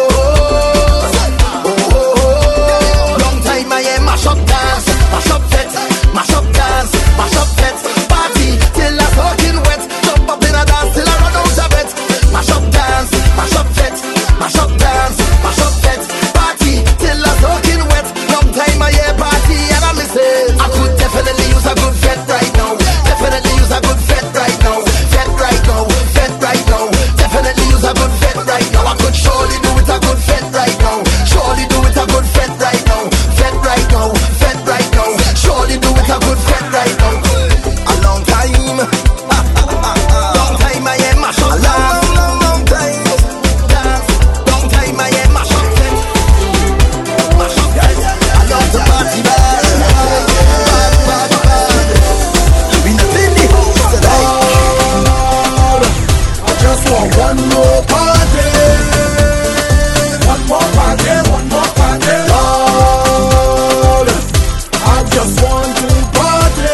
oh, oh, oh. Long time I hear mash up dance, mash up fet, mash up dance, mash up fet. Party till I'm talking wet, jump up in a dance till I run out of it. Mash up dance, mash up fet, mash up dance, mash up fet. Party till I'm talking wet. Long time I hear party and I miss it. I could definitely use a good fet right now. Definitely use a good fet right now. Fet right now, fet right now. Definitely use a good fet right now. I could surely do it a good fet right now. Surely do it a good fet right now. Fet right now, fet right now. Surely do it a good fet right now. A long time, long time I am mash up dance. Long time, dance. Long time I am mash up fet, mash up dance. I love the party bad, bad, bad, bad. We not in the house tonight. I just want one more party. One more party, one more party. Lord, I just want to party.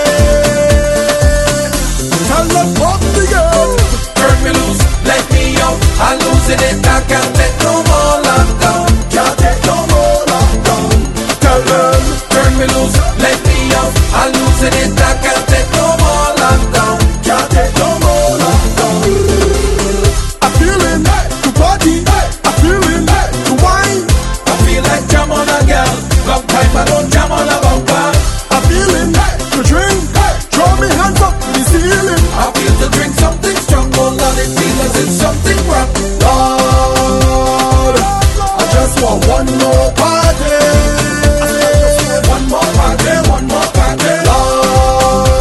Tell them pop the girl. Turn me loose, let me out. I'm losing it, I can't take no more lockdown. Can't take no more lockdown. Tell them, turn me loose, let me out. I'm losing it, I can't take no more lockdown. Can't take no more lockdown. I'm feeling to party. I'm feeling to wine. I feel like jam on a girl. Long time I don't jam on a bumper. I'm feeling to drink. Throw me hands up to the ceiling. I feel to drink something strong. Oh Lord, it feels as if something wrong. Lord, I just want one more party. One more party, one more party. Lord,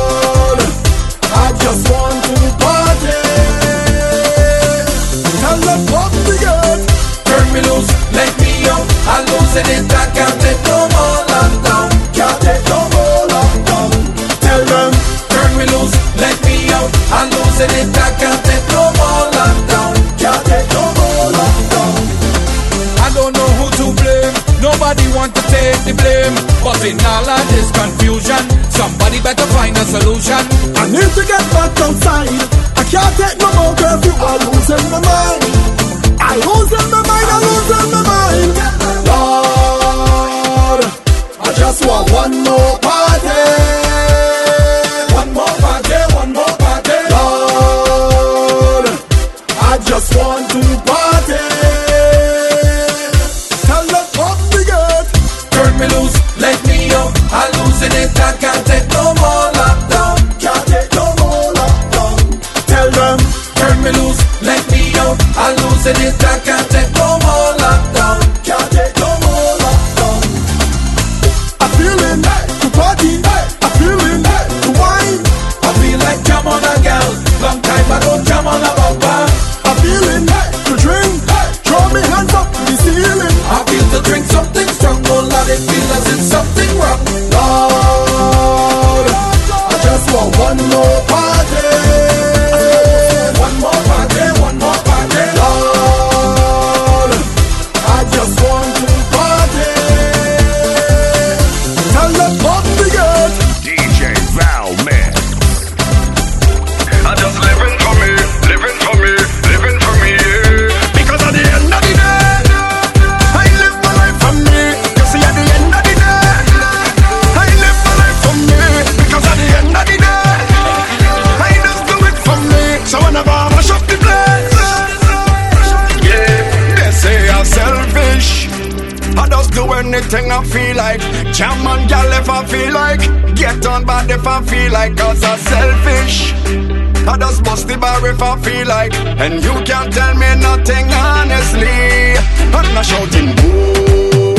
anything I feel like. Jam on gal if I feel like. Get on bad if I feel like. Cause I'm selfish. I just bust the bar if I feel like. And you can't tell me nothing honestly. I'm not shouting boo.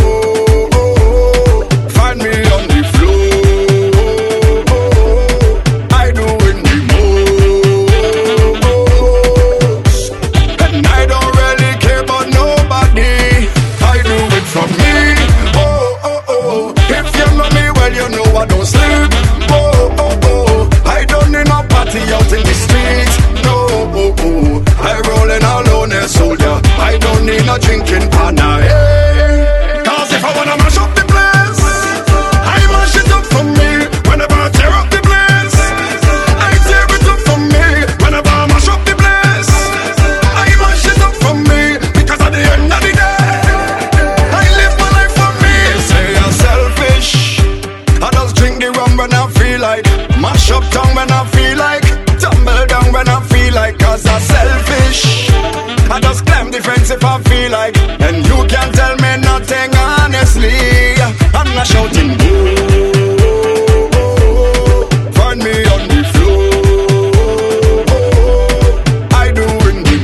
Find me on the floor. I do in the most. And I don't really care about nobody. I do it for me. Oh, oh, oh. If you know me well, you know I don't sleep. Oh, oh, oh. I don't need no party out in the streets. No, oh, oh. I rollin' alone as soldier. I don't need no drinking partner. Hey. Cause if I wanna mash up the place, I mash it up for me. Whenever I tear up the place, I tear it up for me. Whenever I mash up the place, I mash it up for me. Because at the end of the day, I live my life for me. Say I'm selfish. I just drink the rum when I feel like. Mash up tongue when I feel like. Tumble down when I feel like. Cause I'm selfish. I just climb the fence if I feel like. And you can't tell me nothing honestly. I'm not shouting boo. Find me on the floor. I do in the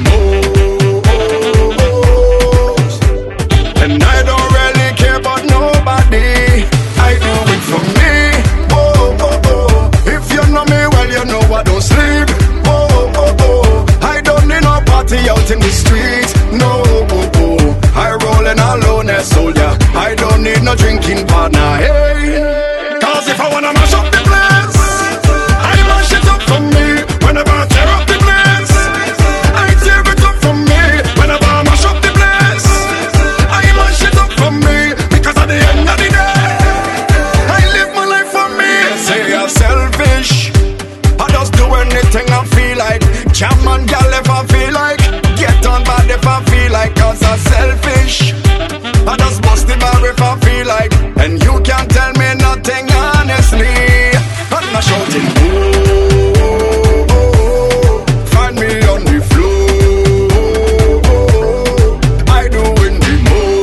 most. And I don't really care about nobody. I do it for me. Oh, oh, oh. If you know me well, you know I don't sleep. Oh, oh, oh. I don't need no party out in the streets. No, oh, oh. I rollin' alone as soldier. I don't need no drinking partner. Hey, cause if I wanna mash up the place, I mash it up for me. Whenever I tear up the place, I tear it up for me. Whenever I mash up the place, I mash it up for me. Because at the end of the day, I live my life for me. Say I'm selfish. I just do anything I feel like. Jam on gal if I feel like. Get on bad if I feel like. Cause I'm selfish. I just bust the bar if I feel like. And you can't tell me nothing honestly. I'm not shouting boo. Find me on the floor. I do in the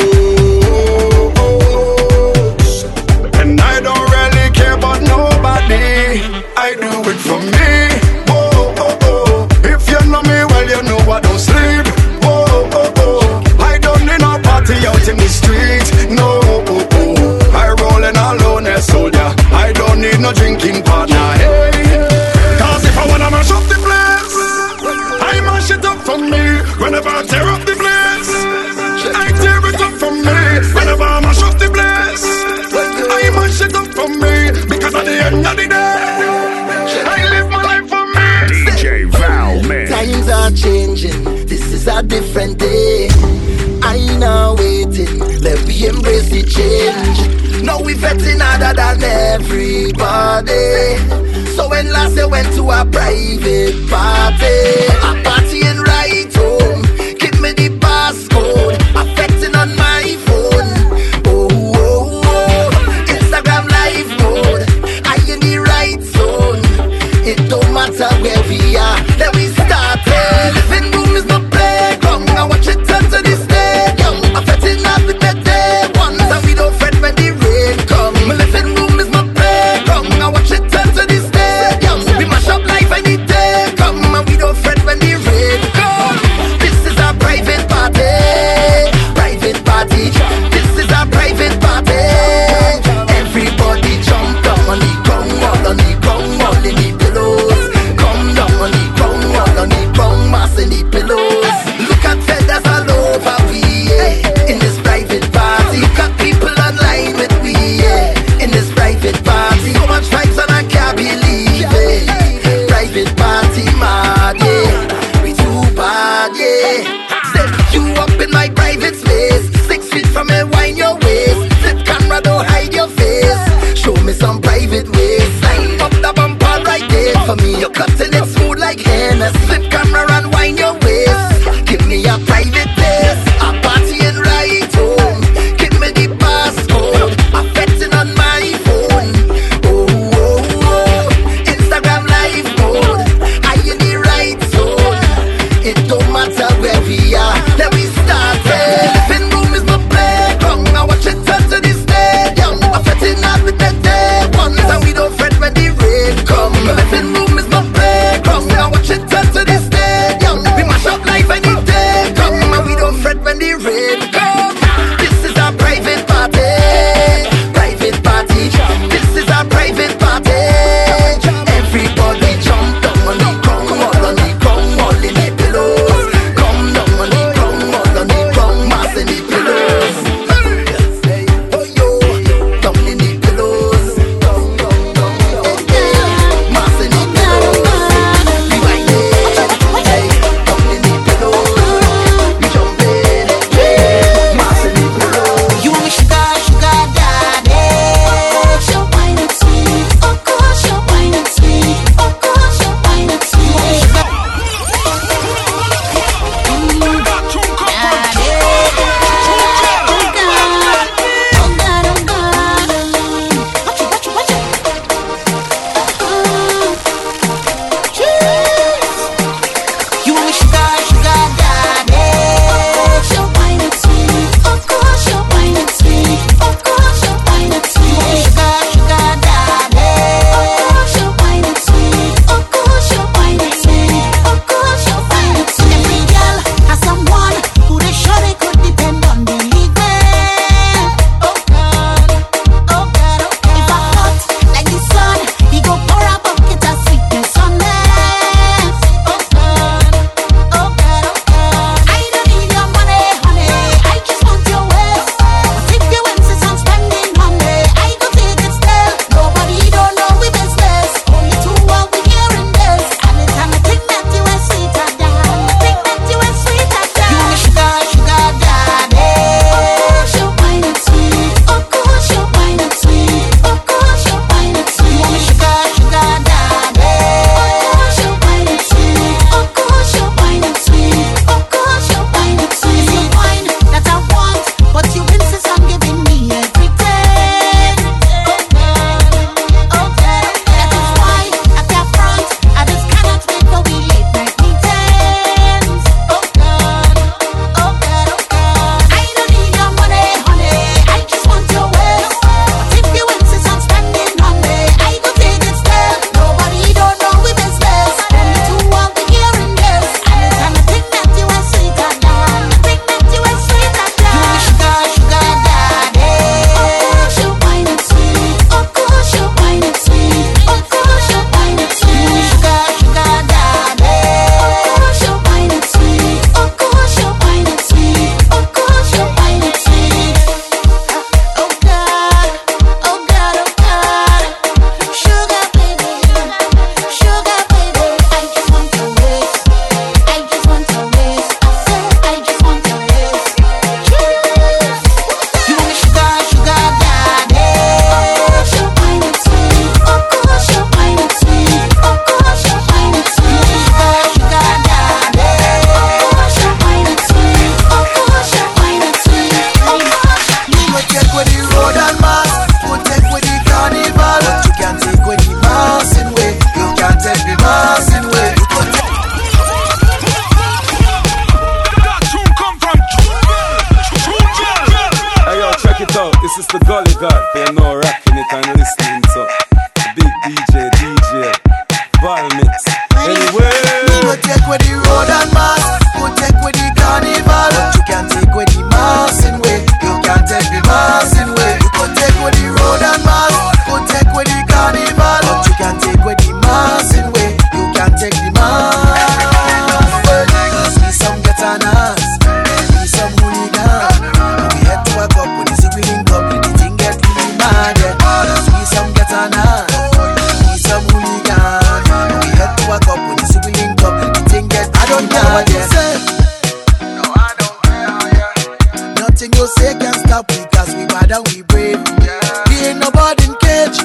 most. And I don't really care about nobody. I do it for me. Oh, oh, oh. If you know me well, you know I don't sleep. Oh, oh, oh. I don't need no party out in the streets. No, oh, oh. I rollin' alone as soldier. I don't need no drinking partner. Hey, cause if I wanna mash up the place, I mash it up for me. Whenever I tear up the place, I tear it up for me. Whenever I mash up the place, I mash it up for me. Because at the end of the day, I live my life for me. DJ Val Mix. Times are changing, this is a different day. I now waiting, let me embrace the change. Now we vetting harder than everybody. So when last I went to a private party, a partying right home, give me the passcode, affecting on my phone. Oh, oh, oh, Instagram live mode, I in the right zone. It don't matter where we are, then we started. Living room is my playground, I watch it turn to the stadium. Affecting up with the day ones, and we don't fret when the rain come. My living room is my playground, I watch it turn to the stadium. We mash up life any day come, and we don't fret when the DJ, Valmix. Anyway, we go take with the road and mass, go take with the carnival. But you can't take with the mass in way. You can't take the mass in way. You go take with the road and mass, go take with the carnival. But you can't take with the mass in way. You can't take the mass. See some getanas, see some hooligans. We head to a cup when it's a winning cup. The thing get really mad. See some getanas, see some hooligans. We head to a cup when it's a winning cup. The thing get I don't care what you say. No, I don't care. Nothing you say can stop we, cause we bad and we brave. We ain't nobody in cage.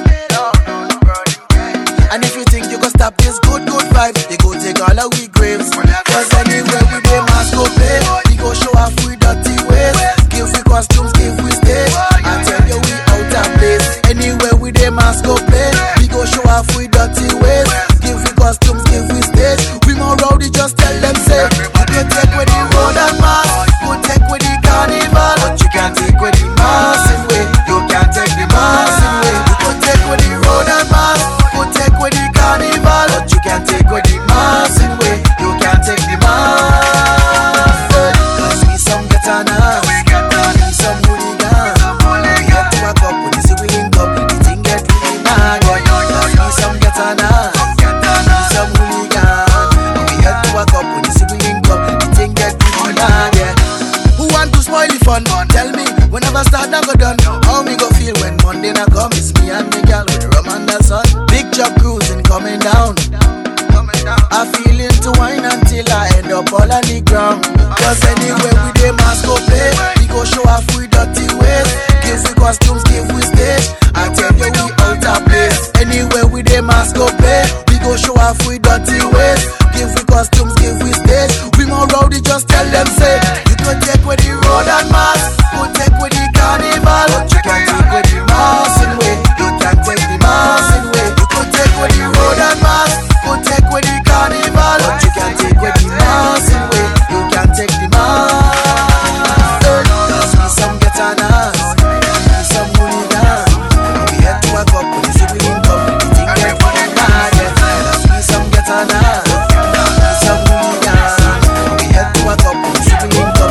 And if you think you can stop this good vibes, they go take all of we graves. Cause anywhere we dey mask go pay. We go show off we dirty ways. Give we costumes, give we stage. I tell you we out of place. Anywhere we dey mask go play. We go show off we dirty ways. Give we costumes, give we stage. We more rowdy, just tell them say. You can take with the road and mask, go take with the carnival. But you can't take with the mass in way. You can't take the mass in way. You can take with the road and mask, go take with the carnival. But you can't take with the mass in way. You can't take the mass. Cause we some getanas, we some hooligans. We get to a cup when it's a winning cup. The thing get really mad. Cause we some getanas, we some hooligans. We get to a cup when it's a winning cup. The thing get really mad. Who want to spoil the fun? Tell me, whenever start I go done. How me go feel when Monday na come? It's me and the girl with the rum and the sun. Big truck cruising coming down. I feel into wine until I end up all on the ground. Cause anywhere we dey mask go play. We go show off we dirty ways. Give we costumes, give we stage. I tell you we out of place. Anywhere we dey mask go play. We go show off we dirty ways. Give we costumes, give we stage. We more rowdy, just tell them say. You can take with the road and mask, go take with the carnival. But you can't take with the mass in way. You can't take the mass in way. You can take with the road and mask, go take with the carnival. But you can't take with the mass in way. You can't take the mass. See some getanas, see some hooligans. We head to a cup when it's a winning cup. The thing get really mad. See some getanas, see some hooligans. We head to a cup when it's a winning cup.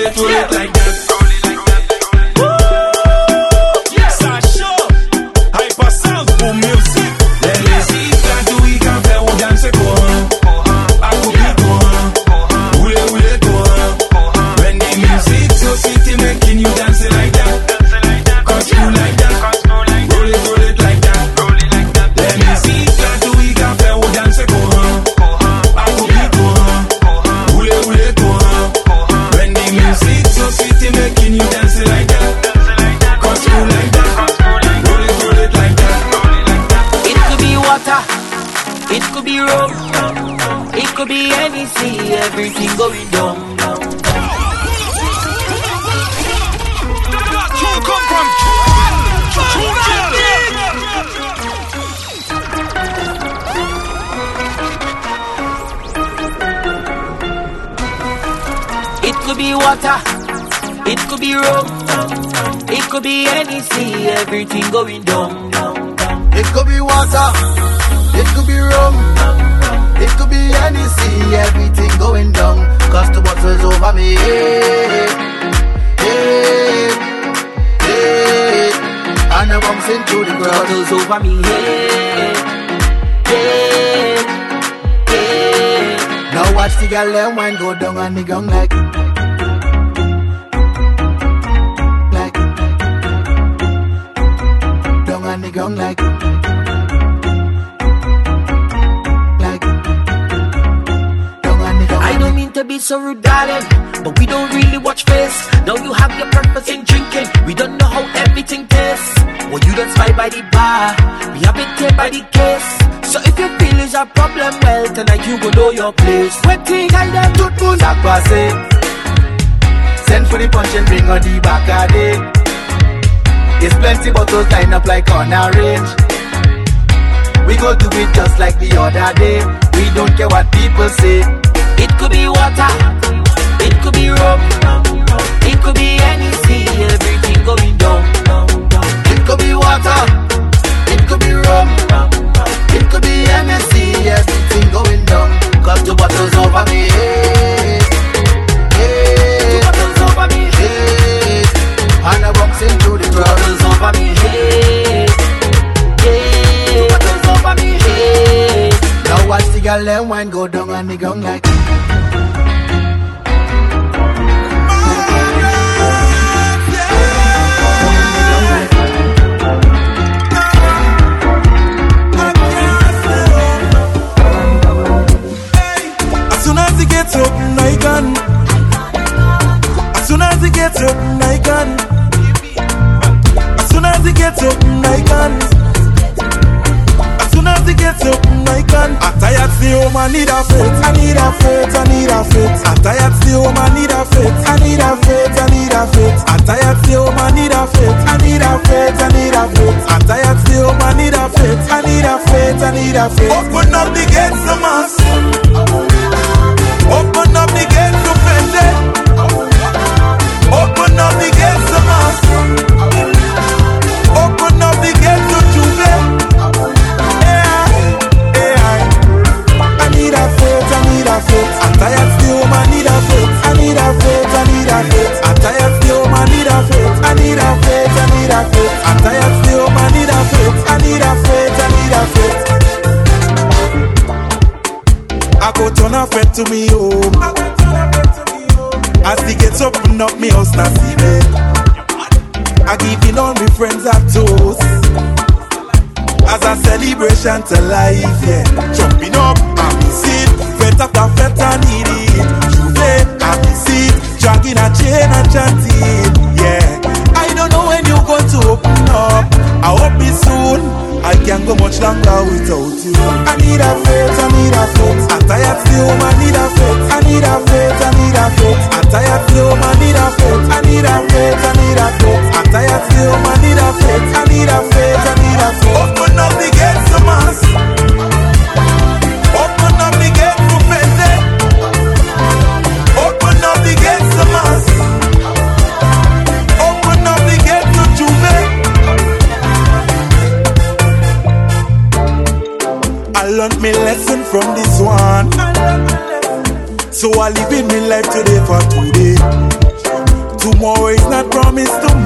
it like that. Everything going down. It could be water, it could be rum, it could be any sea. Everything going down. It could be water, it could be rum, it could be any sea. Everything going down. Cause the bottle's over me. Hey, hey, hey. And I'm bouncing through the ground. Bottle's over me. Hey, hey, hey. Now watch the girl them wine go down and the gong like down and the gong like to be so rude, darling, but we don't really watch face. Now you have your purpose in drinking. We don't know how everything tastes. Well, you don't spy by the bar, we have it here by the case. So if you feel is a problem, well, tonight you go know your place. Waiting, I them good moon that pass it. Send for the punch and bring on the back of it. There's plenty bottles lined up like on a range. We go do it just like the other day. We don't care what people say. It could be water, it could be rum, it could be any sea, everything going down. It could be water, it could be rum, it could be any sea, everything going down. Cause the bottle's over me, hey, hey. The bottle's over me, hey. And I'm bouncing through the crowd. The bottle's over me, hey, hey. The bottle's over me, hey. Now watch the girl them wine go down and the gong like As soon as he gets up, I can. As soon as he gets up, I can. As soon as he gets up, I can. I tired stay home, I need a faith. I need a faith, I need a faith. I tired stay home, I need a faith. I need a faith, I need a faith. I tired stay home, I need a faith. I need a faith, I need a faith. I tired stay home, I need a faith. I need a faith, I need a faith. Open up the gates to mass. Open up the gates to Fende. Open up the gates to mass. Open up the gates to Juve. I need a faith, I need a faith. I'm tired still, I need a faith. I need a faith, I need a faith. I'm tired still, I need a faith. I need a faith, I need a faith. I'm tired still, I need a faith. I need a faith, I need a faith. I go turn a friend to me home. As the gates open up, me house not see me. I giving all my friends a toast as a celebration to life, yeah. Jumping up, happy seat, fete after fete I need it. Juve, happy seat, dragging a chain and chanting, yeah. I don't know when you're going to open up. I hope it's soon. I can't go much longer without you. I need a faith, I need a faith. I'm tired still, I need a faith. I need a faith, I need a faith. I'm tired still, I need a faith. I need a faith, I need a faith. I'm tired still, I need a faith. I need a faith, I need a faith. Open up the gates to mass. Open up the gates to Fende. Open up the gates to mass. Open up the gates to Juve. I learned my lesson from this one, so I live in my life today for today.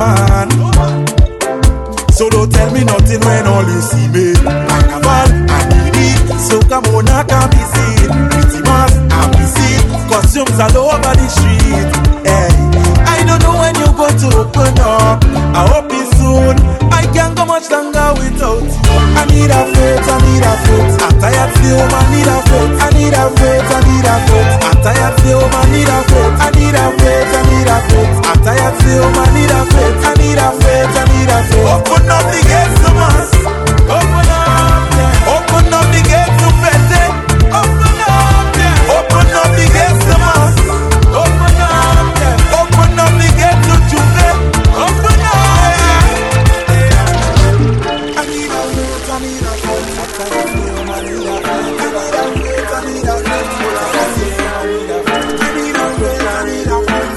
man. So don't tell me nothing when all you see me. Like a ball, I need it. So come on, I can be seen. Pretty much, I'm busy. Costumes all over the street. Hey, I don't know when you're going to open up. I hope it's soon. I can't go much longer without you. I need a faith, I need a faith. I'm tired of the home, I need a faith. I need a faith, I need a faith. I'm tired of the home, I need a faith. I need a faith, I need a faith. I'm tired of the home, I need a faith. I need a faith, I need a faith. Open up the gates to us. Open up, yeah. Open up the gates to Fete. Open up, yeah. Open up the gates to us. Open up, yeah. Open up the gates to Juve. Open up, yeah. I need a faith, I need a faith. I'm tired of the home, I need a faith. I need a faith, I need a faith. I need a faith, I need a faith.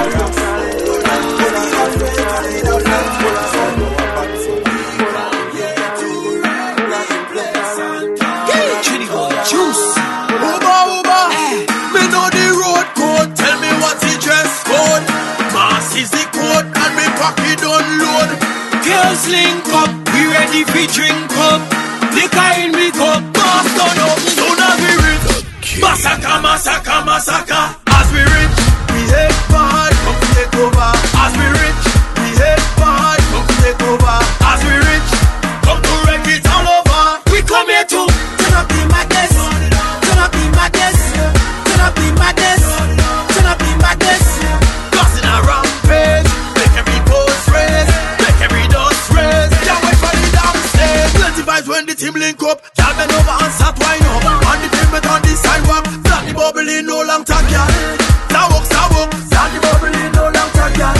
Girls link up, we ready for drink up. Liquor in me cup, boss turn up. Soon as we rich, massacre, massacre, massacre. As we rich, we hate bad, come take over. As we rich, we hate bad, come take over. As we rich, come to wreck it all over. We come here to turn up the madness, turn up the madness, turn up the madness, turn up the madness. Causing a rampage, make every post raise, make every dust raise. Can't wait for the downstairs. Plenty vibes when the team link up. Y'all bend over and start wine up. On the pavement on the sidewalk, flat the bubble in no long time, y'all. Sidewalk, flat the bubble in no long time, y'all.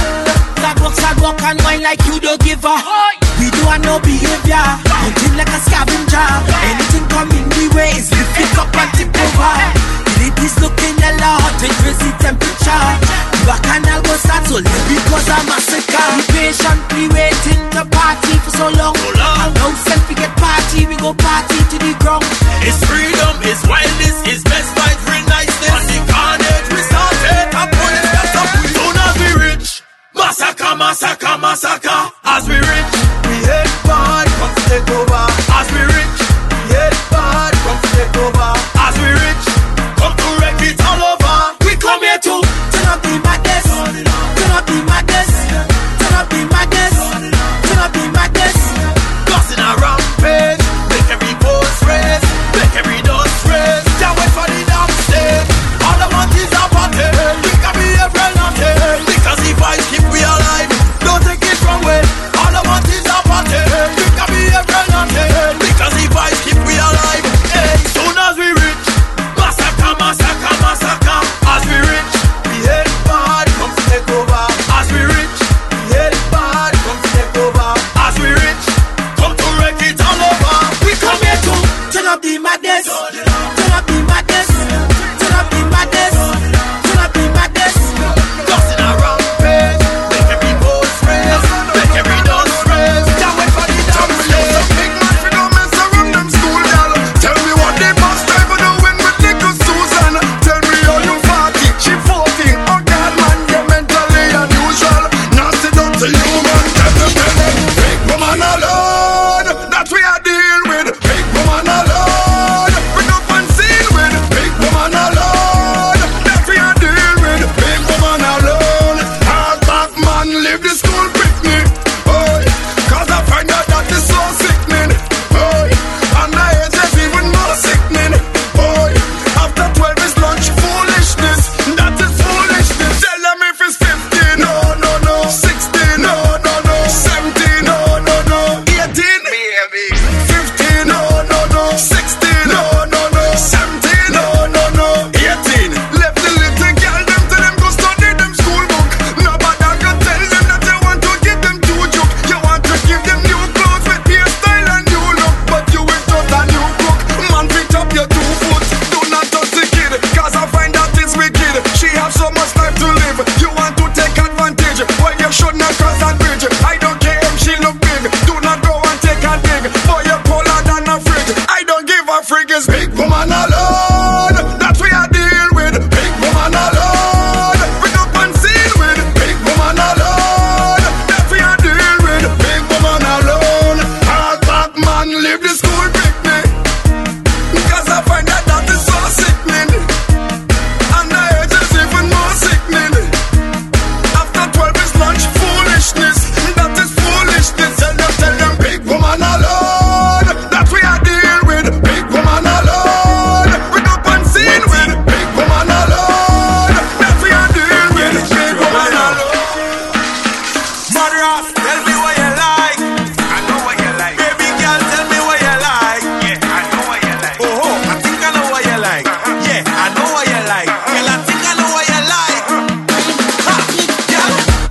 Sidewalk and wine like you don't give a. We do have no behavior, hunting like a scavenger. Anything coming the way is lift it up and tip over. Ladies looking a lot, increase the temperature. The bacchanal go start so late because I'm massacre. We patiently waiting to party for so long. And now since we get party, we go party to the ground. It's freedom, it's wildness, it's best vibes, real niceness. On the carnage, we started, and police got up. Soon as we rich, massacre, massacre, massacre. As we rich, we hate bad, come to take over. As we rich, we hate bad, come to take over. As we rich, come to wreck it all over. We come here to turn up the madness, turn up the madness, turn up the madness, turn up the madness. Causing a rampage, make every post raise, make every dust raise. Can't wait for the downstairs. All I want is a party. We can be a friend of it, because the vibes keep we alive. Don't take it wrong way. All I want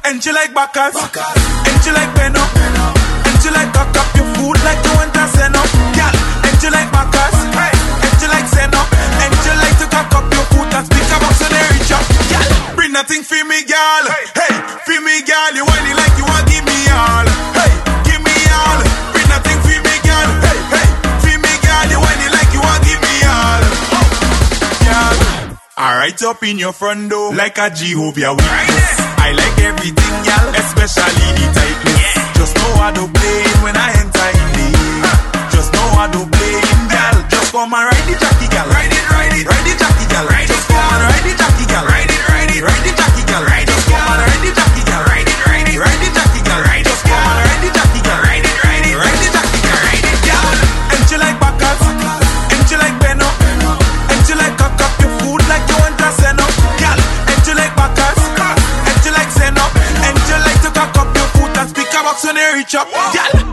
and she like Bacchus, and she like Beno, and she like cock up your food like you want to send up, girl. And she like Bacchus, and she like send up, and she like to cock up your food and speak about so they reach up, girl. Bring nothing for me, girl. Hey, for me, girl. You want it like you want give me all. Hey, give me all. Bring nothing for me, girl. Hey, hey, for me, girl. You want it like you want give me all. Girl, I write up in your front door like a Jehovah Witness. I like everything, girl, especially the tightness. Just know how to play when I enter in there. Just know how to play, girl. Just come and ride the jockey, girl. Ride it, ride it, ride the jockey, girl. Just come and ride the jockey, girl. Ride it, ride it, ride the jockey, girl. Just come and ride the jockey, girl. Ride it, ride it, ride the jockey, girl. Just come and ride the jockey, girl. Ride it, ride it, ride the jockey, girl. Ride it, girl. And she like Bacchus, and she like Beno, and she like cock up your food like you want to send up, girl. And she like Bacchus, and she like send up, and she like to cock up your food and speak about so they reach up, girl.